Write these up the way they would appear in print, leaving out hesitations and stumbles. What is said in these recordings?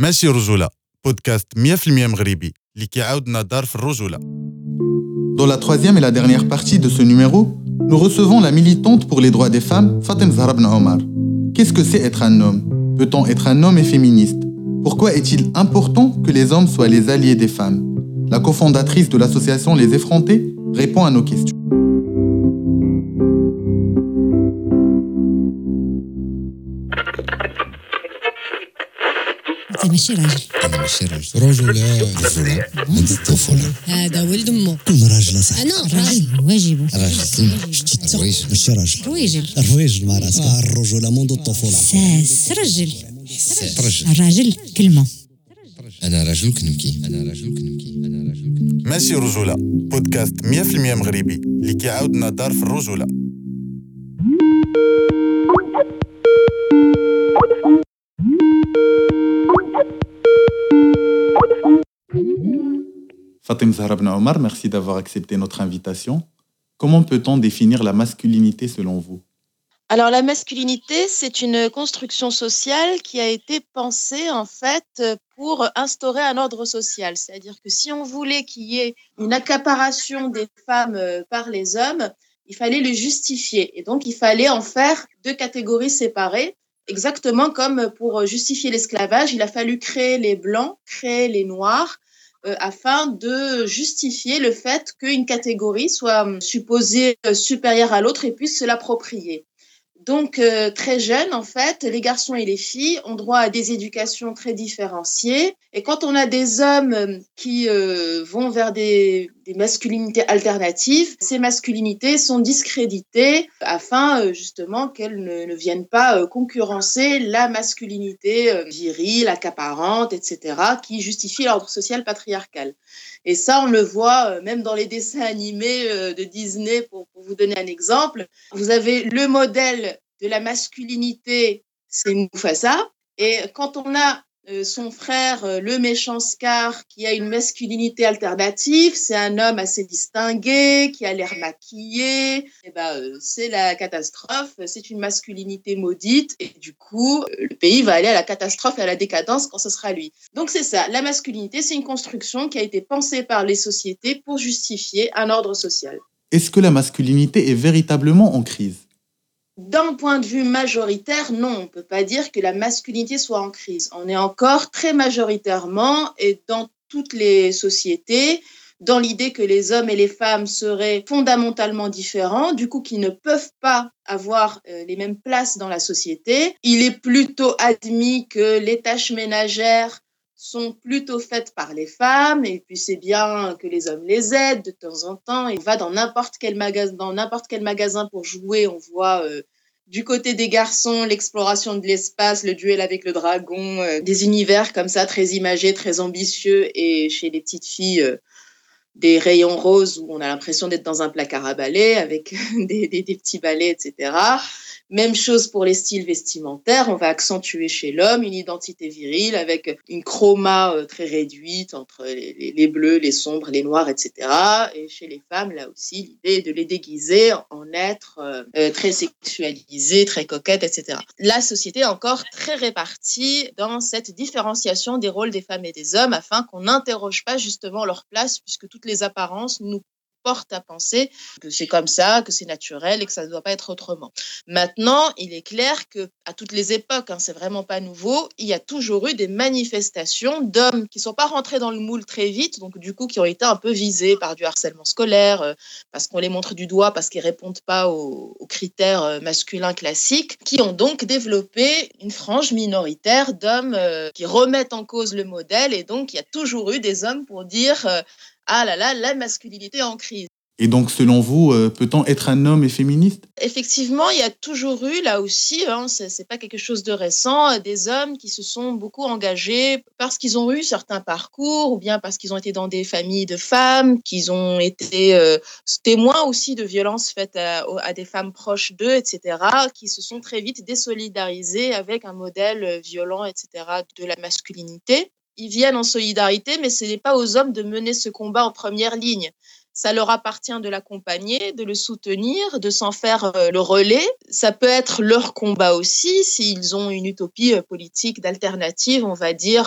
ماشي رجولة بودكاست 100% مغربي اللي كيعاودنا دار في الرجولة. Dans la troisième et la dernière partie de ce numéro, nous recevons la militante pour les droits des femmes, Fatem Zahra Ben Omar. Qu'est-ce que c'est être un homme? Peut-on être un homme et féministe? Pourquoi est-il important que les hommes soient les alliés des femmes? La cofondatrice de l'association Les Effrontés répond à nos questions. انت ماشي راجل. انا ماشي راجل. رجولة عند الطفولة. هذا ولد امه. كل راجل صح. انا راجل واجبه. راجل شتي ماشي راجل. رويجل مع راسك. الرجولة منذ الطفولة. ساس رجل. رجل. الراجل كلمه. انا راجل كنبكي. ماشي رجولة بودكاست 100% مغربي اللي كيعاودنا دار في الرجولة. Fatem Zahra Ben Omar, merci d'avoir accepté notre invitation. Comment peut-on définir la masculinité selon vous? Alors la masculinité, c'est une construction sociale qui a été pensée en fait pour instaurer un ordre social. C'est-à-dire que si on voulait qu'il y ait une accaparation des femmes par les hommes, il fallait le justifier. Et donc il fallait en faire deux catégories séparées. Exactement comme pour justifier l'esclavage, il a fallu créer les blancs, créer les noirs, afin de justifier le fait qu'une catégorie soit supposée supérieure à l'autre et puisse se l'approprier. Donc, très jeunes, en fait, les garçons et les filles ont droit à des éducations très différenciées. Et quand on a des hommes qui vont vers des masculinités alternatives, ces masculinités sont discréditées afin, justement, qu'elles ne viennent pas concurrencer la masculinité virile, accaparante, etc., qui justifie l'ordre social patriarcal. Et ça, on le voit même dans les dessins animés de Disney, pour vous donner un exemple. Vous avez le modèle de la masculinité, c'est Mufasa. Et quand on a son frère, le méchant Scar, qui a une masculinité alternative, c'est un homme assez distingué, qui a l'air maquillé, et c'est la catastrophe, c'est une masculinité maudite, et du coup, le pays va aller à la catastrophe et à la décadence quand ce sera lui. Donc c'est ça, la masculinité, c'est une construction qui a été pensée par les sociétés pour justifier un ordre social. Est-ce que la masculinité est véritablement en crise? D'un point de vue majoritaire, non, on ne peut pas dire que la masculinité soit en crise. On est encore très majoritairement, et dans toutes les sociétés, dans l'idée que les hommes et les femmes seraient fondamentalement différents, du coup qu'ils ne peuvent pas avoir les mêmes places dans la société. Il est plutôt admis que les tâches ménagères sont plutôt faites par les femmes, et puis c'est bien que les hommes les aident de temps en temps. Et on va dans n'importe quel magasin pour jouer, on voit du côté des garçons l'exploration de l'espace, le duel avec le dragon, des univers comme ça très imagés, très ambitieux, et chez les petites filles des rayons roses où on a l'impression d'être dans un placard à balais avec des petits balais, etc. Même chose pour les styles vestimentaires. On va accentuer chez l'homme une identité virile avec une chroma très réduite entre les bleus, les sombres, les noirs, etc. Et chez les femmes, là aussi, l'idée est de les déguiser en êtres très sexualisés, très coquettes, etc. La société est encore très répartie dans cette différenciation des rôles des femmes et des hommes afin qu'on n'interroge pas justement leur place, puisque toutes les apparences nous portent à penser que c'est comme ça, que c'est naturel et que ça ne doit pas être autrement. Maintenant, il est clair qu'à toutes les époques, c'est vraiment pas nouveau, il y a toujours eu des manifestations d'hommes qui ne sont pas rentrés dans le moule très vite, donc du coup qui ont été un peu visés par du harcèlement scolaire, parce qu'on les montre du doigt, parce qu'ils ne répondent pas aux critères masculins classiques, qui ont donc développé une frange minoritaire d'hommes qui remettent en cause le modèle, et donc il y a toujours eu des hommes pour dire ah là là, la masculinité est en crise. Et donc, selon vous, peut-on être un homme et féministe? Effectivement, il y a toujours eu, là aussi, c'est pas quelque chose de récent, des hommes qui se sont beaucoup engagés parce qu'ils ont eu certains parcours, ou bien parce qu'ils ont été dans des familles de femmes, qu'ils ont été témoins aussi de violences faites à des femmes proches d'eux, etc., qui se sont très vite désolidarisés avec un modèle violent, etc., de la masculinité. Ils viennent en solidarité, mais ce n'est pas aux hommes de mener ce combat en première ligne. Ça leur appartient de l'accompagner, de le soutenir, de s'en faire le relais. Ça peut être leur combat aussi, s'ils ont une utopie politique d'alternative, on va dire,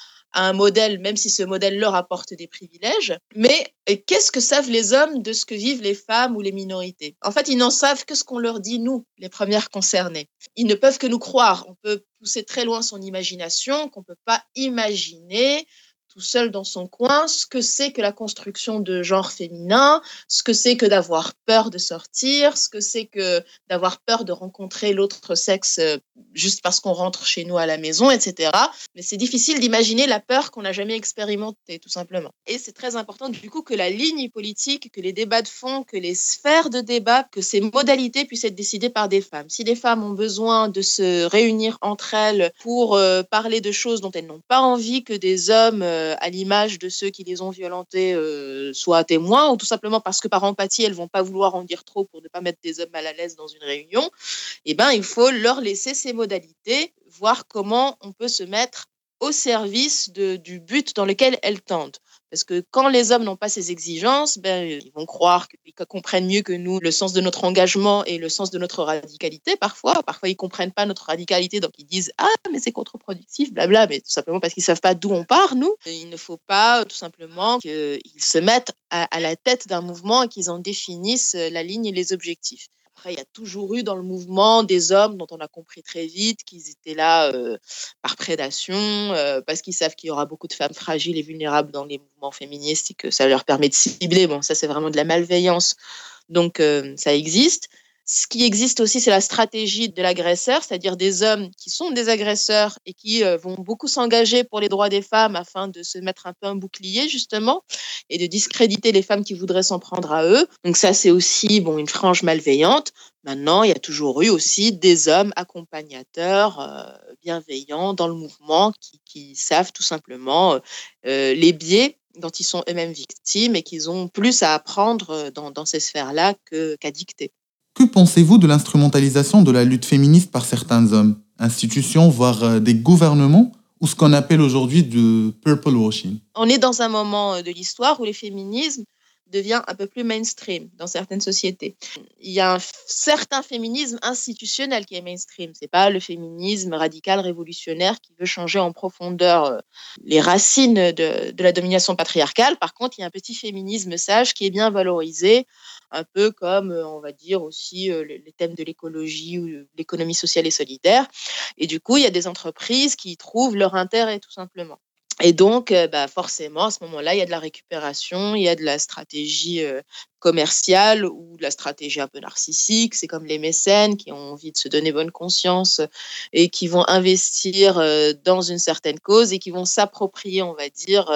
à un modèle, même si ce modèle leur apporte des privilèges. Mais qu'est-ce que savent les hommes de ce que vivent les femmes ou les minorités? En fait, ils n'en savent que ce qu'on leur dit, nous, les premières concernées. Ils ne peuvent que nous croire. On peut pousser très loin son imagination, qu'on ne peut pas imaginer tout seul dans son coin, ce que c'est que la construction de genre féminin, ce que c'est que d'avoir peur de sortir, ce que c'est que d'avoir peur de rencontrer l'autre sexe juste parce qu'on rentre chez nous à la maison, etc. Mais c'est difficile d'imaginer la peur qu'on n'a jamais expérimentée, tout simplement. Et c'est très important, du coup, que la ligne politique, que les débats de fond, que les sphères de débat, que ces modalités puissent être décidées par des femmes. Si des femmes ont besoin de se réunir entre elles pour parler de choses dont elles n'ont pas envie que des hommes à l'image de ceux qui les ont violentées soient témoins, ou tout simplement parce que par empathie, elles vont pas vouloir en dire trop pour ne pas mettre des hommes mal à l'aise dans une réunion, eh ben, il faut leur laisser ces modalités, voir comment on peut se mettre au service du but dans lequel elles tendent. Parce que quand les hommes n'ont pas ces exigences, ben, ils vont croire qu'ils comprennent mieux que nous le sens de notre engagement et le sens de notre radicalité parfois. Parfois, ils ne comprennent pas notre radicalité, donc ils disent « Ah, mais c'est contre-productif, blabla », mais tout simplement parce qu'ils ne savent pas d'où on part, nous. Et il ne faut pas tout simplement qu'ils se mettent à la tête d'un mouvement et qu'ils en définissent la ligne et les objectifs. Après, il y a toujours eu dans le mouvement des hommes dont on a compris très vite qu'ils étaient là par prédation, parce qu'ils savent qu'il y aura beaucoup de femmes fragiles et vulnérables dans les mouvements féministes et que ça leur permet de cibler. Bon, ça, c'est vraiment de la malveillance. Donc, ça existe. Ce qui existe aussi, c'est la stratégie de l'agresseur, c'est-à-dire des hommes qui sont des agresseurs et qui vont beaucoup s'engager pour les droits des femmes afin de se mettre un peu un bouclier, justement, et de discréditer les femmes qui voudraient s'en prendre à eux. Donc ça, c'est aussi une frange malveillante. Maintenant, il y a toujours eu aussi des hommes accompagnateurs, bienveillants dans le mouvement qui savent tout simplement les biais dont ils sont eux-mêmes victimes et qu'ils ont plus à apprendre dans ces sphères-là qu'à dicter. Que pensez-vous de l'instrumentalisation de la lutte féministe par certains hommes, institutions, voire des gouvernements, ou ce qu'on appelle aujourd'hui du purple washing? On est dans un moment de l'histoire où les féminismes devient un peu plus mainstream dans certaines sociétés. Il y a un certain féminisme institutionnel qui est mainstream. C'est pas le féminisme radical révolutionnaire qui veut changer en profondeur les racines de la domination patriarcale. Par contre, il y a un petit féminisme sage qui est bien valorisé, un peu comme, on va dire aussi, les thèmes de l'écologie ou l'économie sociale et solidaire. Et du coup, il y a des entreprises qui y trouvent leur intérêt, tout simplement. Et donc, forcément, à ce moment-là, il y a de la récupération, il y a de la stratégie commerciale ou de la stratégie un peu narcissique. C'est comme les mécènes qui ont envie de se donner bonne conscience et qui vont investir dans une certaine cause et qui vont s'approprier, on va dire,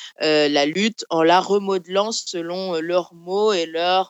la lutte en la remodelant selon leurs mots et leur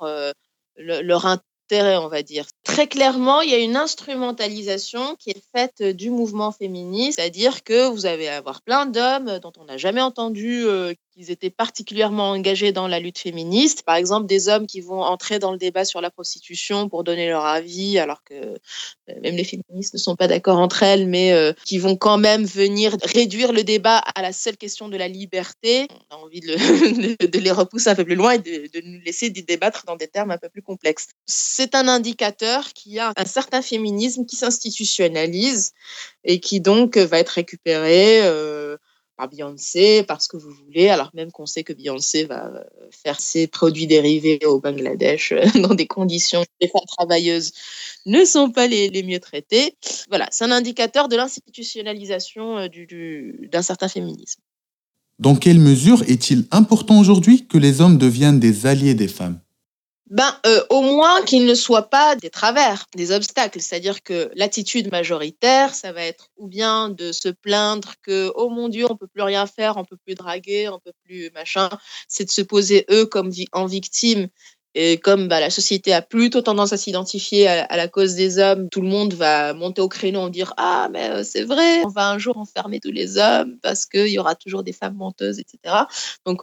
intérêt, on va dire. Très clairement, il y a une instrumentalisation qui est faite du mouvement féministe, c'est-à-dire que vous allez avoir plein d'hommes dont on n'a jamais entendu qu'ils étaient particulièrement engagés dans la lutte féministe. Par exemple, des hommes qui vont entrer dans le débat sur la prostitution pour donner leur avis, alors que même les féministes ne sont pas d'accord entre elles, mais qui vont quand même venir réduire le débat à la seule question de la liberté. On a envie de les repousser un peu plus loin et de nous laisser débattre dans des termes un peu plus complexes. C'est un indicateur qu'il y a un certain féminisme qui s'institutionnalise et qui donc va être récupéré par Beyoncé, parce que vous voulez, alors même qu'on sait que Beyoncé va faire ses produits dérivés au Bangladesh dans des conditions où les femmes travailleuses ne sont pas les mieux traitées. Voilà, c'est un indicateur de l'institutionnalisation d'un certain féminisme. Dans quelle mesure est-il important aujourd'hui que les hommes deviennent des alliés des femmes? Au moins qu'ils ne soient pas des travers, des obstacles. C'est-à-dire que l'attitude majoritaire, ça va être ou bien de se plaindre que « Oh mon Dieu, on peut plus rien faire, on peut plus draguer, on peut plus machin ». C'est de se poser eux comme en victime. Et comme la société a plutôt tendance à s'identifier à la cause des hommes, tout le monde va monter au créneau et dire « Ah, mais c'est vrai, on va un jour enfermer tous les hommes parce qu'il y aura toujours des femmes menteuses, etc. » Donc,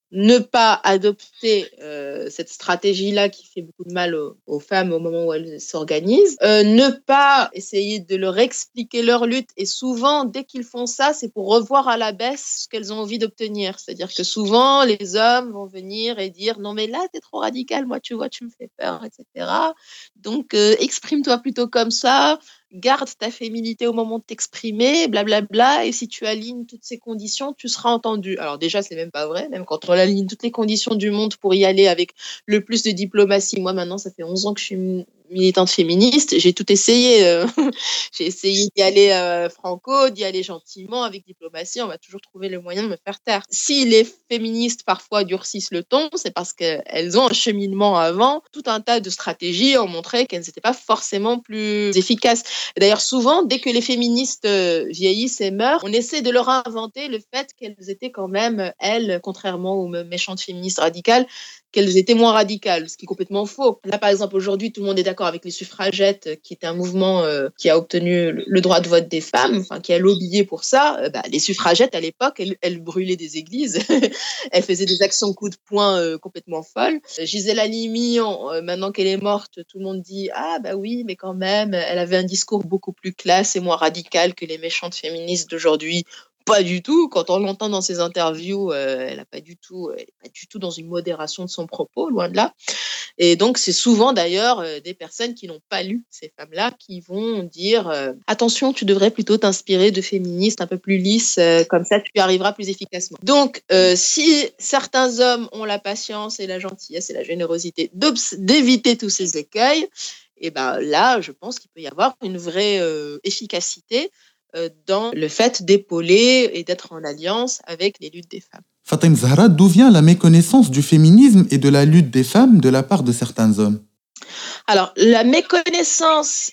ne pas adopter cette stratégie-là qui fait beaucoup de mal aux femmes au moment où elles s'organisent, ne pas essayer de leur expliquer leur lutte. Et souvent, dès qu'ils font ça, c'est pour revoir à la baisse ce qu'elles ont envie d'obtenir. C'est-à-dire que souvent, les hommes vont venir et dire « Non, mais là, t'es trop radical, moi, tu vois, tu me fais peur, etc. Donc, exprime-toi plutôt comme ça. Garde ta féminité au moment de t'exprimer, blablabla, et si tu alignes toutes ces conditions, tu seras entendu. » Alors déjà, c'est même pas vrai, même quand on aligne toutes les conditions du monde pour y aller avec le plus de diplomatie. Moi, maintenant, ça fait 11 ans que je suis militante féministe, j'ai tout essayé. J'ai essayé d'y aller franco, d'y aller gentiment, avec diplomatie, on va toujours trouver le moyen de me faire taire. Si les féministes parfois durcissent le ton, c'est parce qu'elles ont un cheminement avant. Tout un tas de stratégies ont montré qu'elles n'étaient pas forcément plus efficaces. Et d'ailleurs, souvent, dès que les féministes vieillissent et meurent, on essaie de leur inventer le fait qu'elles étaient quand même, elles, contrairement aux méchantes féministes radicales, qu'elles étaient moins radicales, ce qui est complètement faux. Là, par exemple, aujourd'hui, tout le monde est d'accord avec les suffragettes, qui est un mouvement qui a obtenu le droit de vote des femmes, enfin, qui a lobbyé pour ça. Les suffragettes, à l'époque, elles brûlaient des églises, elles faisaient des actions coup de poing complètement folles. Gisèle Halimi, maintenant qu'elle est morte, tout le monde dit « Ah, bah oui, mais quand même, elle avait un discours beaucoup plus classe et moins radical que les méchantes féministes d'aujourd'hui. » Pas du tout. Quand on l'entend dans ses interviews, elle n'est pas du tout dans une modération de son propos, loin de là. Et donc, c'est souvent d'ailleurs des personnes qui n'ont pas lu ces femmes-là qui vont dire attention, tu devrais plutôt t'inspirer de féministes un peu plus lisses, comme ça tu y arriveras plus efficacement. Donc, si certains hommes ont la patience et la gentillesse et la générosité d'éviter tous ces écueils, et ben là, je pense qu'il peut y avoir une vraie efficacité dans le fait d'épauler et d'être en alliance avec les luttes des femmes. Fatem Zahra, d'où vient la méconnaissance du féminisme et de la lutte des femmes de la part de certains hommes? Alors, la méconnaissance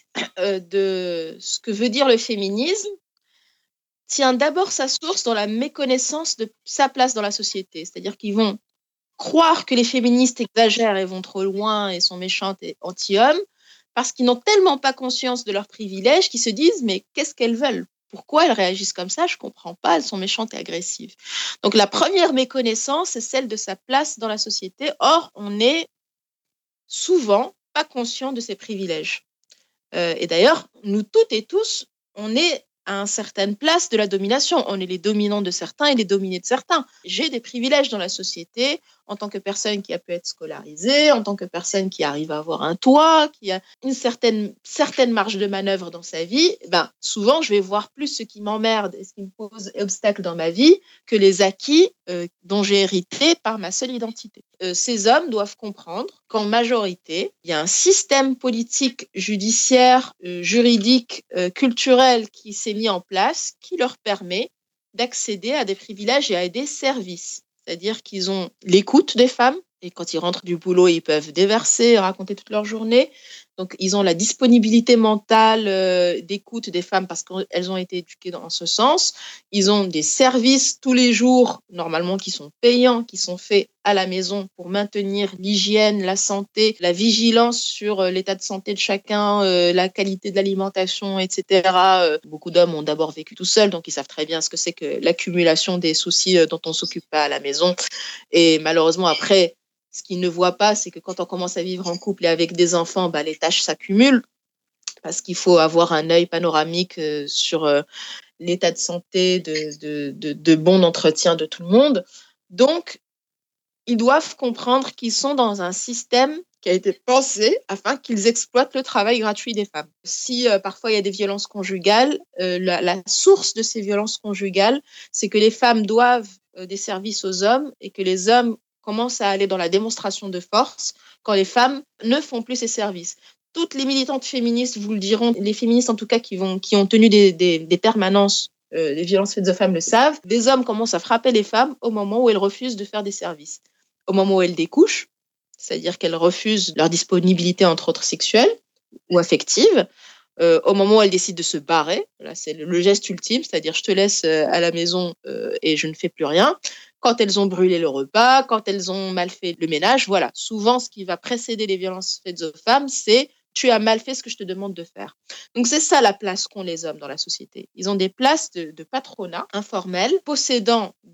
de ce que veut dire le féminisme tient d'abord sa source dans la méconnaissance de sa place dans la société. C'est-à-dire qu'ils vont croire que les féministes exagèrent et vont trop loin et sont méchantes et anti-hommes, parce qu'ils n'ont tellement pas conscience de leurs privilèges qu'ils se disent « mais qu'est-ce qu'elles veulent ? Pourquoi elles réagissent comme ça ? Je ne comprends pas, elles sont méchantes et agressives. » Donc la première méconnaissance, c'est celle de sa place dans la société. Or, on n'est souvent pas conscient de ses privilèges. Et d'ailleurs, nous toutes et tous, on est à une certaine place de la domination. On est les dominants de certains et les dominés de certains. J'ai des privilèges dans la société en tant que personne qui a pu être scolarisée, en tant que personne qui arrive à avoir un toit, qui a une certaine marge de manœuvre dans sa vie. Souvent, je vais voir plus ce qui m'emmerde et ce qui me pose obstacle dans ma vie que les acquis dont j'ai hérité par ma seule identité. Ces hommes doivent comprendre qu'en majorité, il y a un système politique, judiciaire, juridique, culturel qui s'est mis en place qui leur permet d'accéder à des privilèges et à des services. C'est-à-dire qu'ils ont l'écoute des femmes et quand ils rentrent du boulot, ils peuvent déverser, raconter toute leur journée. Donc, ils ont la disponibilité mentale d'écoute des femmes parce qu'elles ont été éduquées dans ce sens. Ils ont des services tous les jours, normalement, qui sont payants, qui sont faits à la maison pour maintenir l'hygiène, la santé, la vigilance sur l'état de santé de chacun, la qualité de l'alimentation, etc. Beaucoup d'hommes ont d'abord vécu tout seuls, donc ils savent très bien ce que c'est que l'accumulation des soucis dont on ne s'occupe pas à la maison. Et malheureusement, après, ce qu'ils ne voient pas, c'est que quand on commence à vivre en couple et avec des enfants, les tâches s'accumulent parce qu'il faut avoir un œil panoramique sur l'état de santé, de bon entretien de tout le monde. Donc, ils doivent comprendre qu'ils sont dans un système qui a été pensé afin qu'ils exploitent le travail gratuit des femmes. Si parfois il y a des violences conjugales, la source de ces violences conjugales, c'est que les femmes doivent des services aux hommes et que les hommes commencent à aller dans la démonstration de force quand les femmes ne font plus ces services. Toutes les militantes féministes vous le diront, les féministes en tout cas qui ont tenu des permanences des violences faites aux femmes le savent, des hommes commencent à frapper les femmes au moment où elles refusent de faire des services. Au moment où elles découchent, c'est-à-dire qu'elles refusent leur disponibilité entre autres sexuelle ou affective, au moment où elles décident de se barrer, là c'est le geste ultime, c'est-à-dire je te laisse à la maison et je ne fais plus rien. Quand elles ont brûlé le repas, quand elles ont mal fait le ménage, voilà. Souvent, ce qui va précéder les violences faites aux femmes, c'est tu as mal fait ce que je te demande de faire. Donc, c'est ça la place qu'ont les hommes dans la société. Ils ont des places de patronat informel, possédant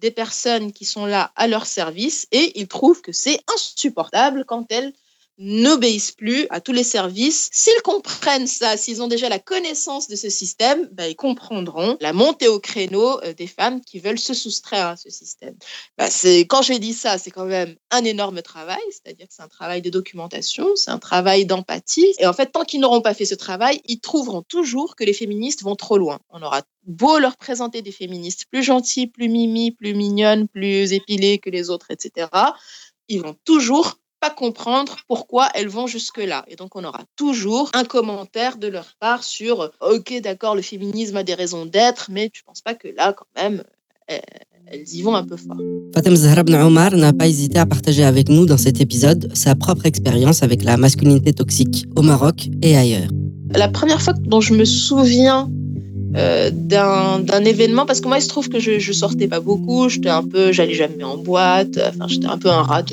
des personnes qui sont là à leur service et ils trouvent que c'est insupportable quand elles n'obéissent plus à tous les services. S'ils comprennent ça, s'ils ont déjà la connaissance de ce système, ils comprendront la montée au créneau des femmes qui veulent se soustraire à ce système. Quand j'ai dit ça, c'est quand même un énorme travail, c'est-à-dire que c'est un travail de documentation, c'est un travail d'empathie. Et en fait, tant qu'ils n'auront pas fait ce travail, ils trouveront toujours que les féministes vont trop loin. On aura beau leur présenter des féministes plus gentilles, plus mimi, plus mignonnes, plus épilées que les autres, etc. Ils vont toujours pas comprendre pourquoi elles vont jusque-là. Et donc, on aura toujours un commentaire de leur part sur « Ok, d'accord, le féminisme a des raisons d'être, mais tu penses pas que là, quand même, elles y vont un peu fort. » Fatem Zahra Ben Omar n'a pas hésité à partager avec nous dans cet épisode sa propre expérience avec la masculinité toxique au Maroc et ailleurs. La première fois dont je me souviens d'un événement, parce que moi il se trouve que je sortais pas beaucoup, j'allais jamais en boîte, j'étais un peu un rat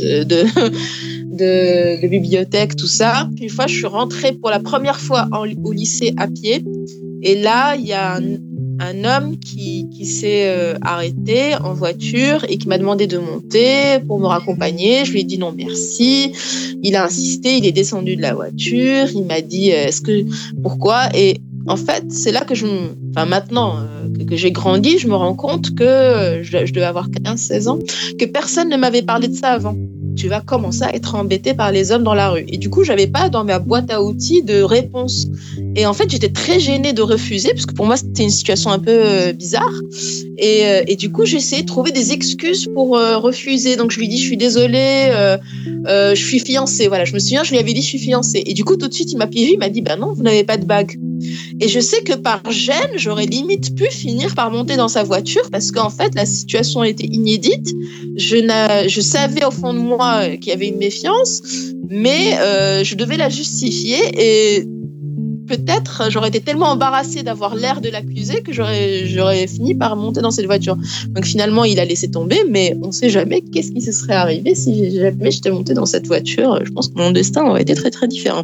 de bibliothèque, tout ça. Puis une fois je suis rentrée pour la première fois au lycée à pied, et là il y a un homme qui s'est arrêté en voiture et qui m'a demandé de monter pour me raccompagner. Je lui ai dit non merci. Il a insisté, il est descendu de la voiture, il m'a dit pourquoi? Et en fait, c'est là que maintenant que j'ai grandi, je me rends compte que je devais avoir 15-16 ans, que personne ne m'avait parlé de ça avant. Tu vas commencer à être embêté par les hommes dans la rue. Et du coup, j'avais pas dans ma boîte à outils de réponse. Et en fait, j'étais très gênée de refuser, parce que pour moi, c'était une situation un peu bizarre. Et du coup, j'ai essayé de trouver des excuses pour refuser. Donc, je lui dis, je suis désolée, je suis fiancée. Voilà, je me souviens, je lui avais dit, je suis fiancée. Et du coup, tout de suite, il m'a piégé, il m'a dit, non, vous n'avez pas de bague. Et je sais que par gêne, j'aurais limite pu finir par monter dans sa voiture, parce qu'en fait, la situation était inédite. Je savais au fond de moi qu'il y avait une méfiance, mais je devais la justifier, et peut-être j'aurais été tellement embarrassée d'avoir l'air de l'accuser que j'aurais fini par monter dans cette voiture. Donc finalement, il a laissé tomber, mais on ne sait jamais qu'est-ce qui se serait arrivé si jamais j'étais montée dans cette voiture. Je pense que mon destin aurait été très très différent.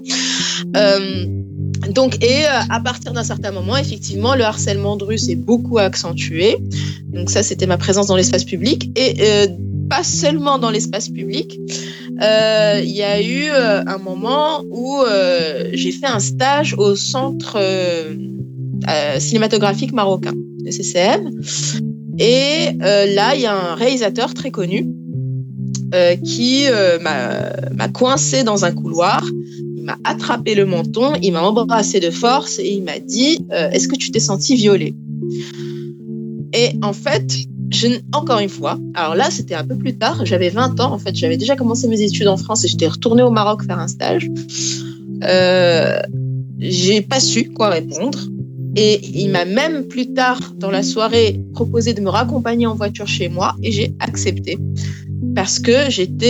À partir d'un certain moment, effectivement, le harcèlement de rue s'est beaucoup accentué. Donc ça, c'était ma présence dans l'espace public. Et pas seulement dans l'espace public. Il y a eu un moment où j'ai fait un stage au centre cinématographique marocain, le CCM. Et là, il y a un réalisateur très connu qui m'a coincé dans un couloir. Il m'a attrapé le menton, il m'a embrassé de force et il m'a dit est-ce que tu t'es senti violée? Et en fait, encore une fois, alors là c'était un peu plus tard, j'avais 20 ans en fait, j'avais déjà commencé mes études en France et j'étais retournée au Maroc faire un stage. J'ai pas su quoi répondre et il m'a même plus tard dans la soirée proposé de me raccompagner en voiture chez moi et j'ai accepté parce que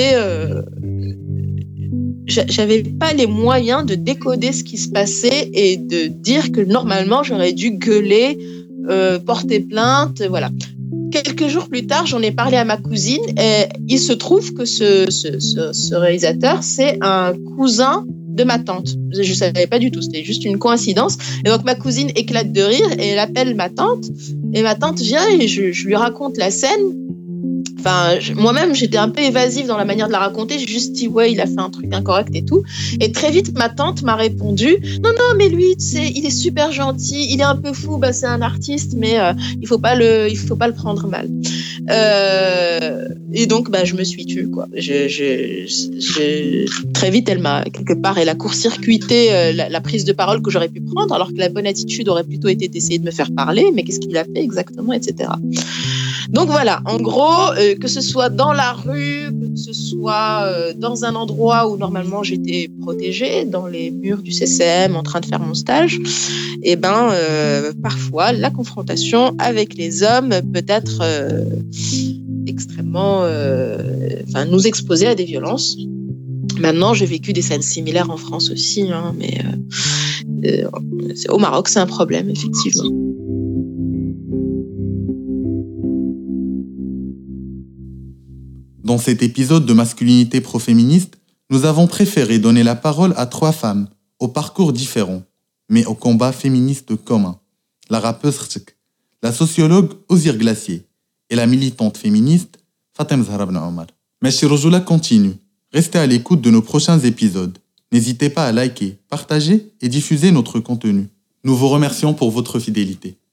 j'avais pas les moyens de décoder ce qui se passait et de dire que normalement j'aurais dû gueuler, porter plainte, voilà. Quelques jours plus tard, j'en ai parlé à ma cousine et il se trouve que ce réalisateur, c'est un cousin de ma tante. Je ne savais pas du tout, c'était juste une coïncidence. Et donc ma cousine éclate de rire et elle appelle ma tante. Et ma tante vient et je lui raconte la scène. Moi-même, j'étais un peu évasive dans la manière de la raconter. J'ai juste dit, ouais, il a fait un truc incorrect et tout. Et très vite, ma tante m'a répondu, non, mais lui, tu sais, il est super gentil, il est un peu fou, c'est un artiste, mais il faut pas le prendre mal. Et donc, je me suis tue, quoi. Très vite, elle a court-circuité la prise de parole que j'aurais pu prendre, alors que la bonne attitude aurait plutôt été d'essayer de me faire parler, mais qu'est-ce qu'il a fait exactement, etc. Donc voilà, en gros, que ce soit dans la rue, que ce soit dans un endroit où normalement j'étais protégée, dans les murs du CCM en train de faire mon stage, parfois la confrontation avec les hommes peut être extrêmement, nous exposer à des violences. Maintenant, j'ai vécu des scènes similaires en France aussi, mais au Maroc, c'est un problème, effectivement. Dans cet épisode de Masculinité pro-féministe, nous avons préféré donner la parole à 3 femmes, aux parcours différents, mais au combat féministe commun. La rappeuse Rtchek, la sociologue Ozir Glacier et la militante féministe Fatem Zahra Ben Omar. Machi Rojoula continue. Restez à l'écoute de nos prochains épisodes. N'hésitez pas à liker, partager et diffuser notre contenu. Nous vous remercions pour votre fidélité.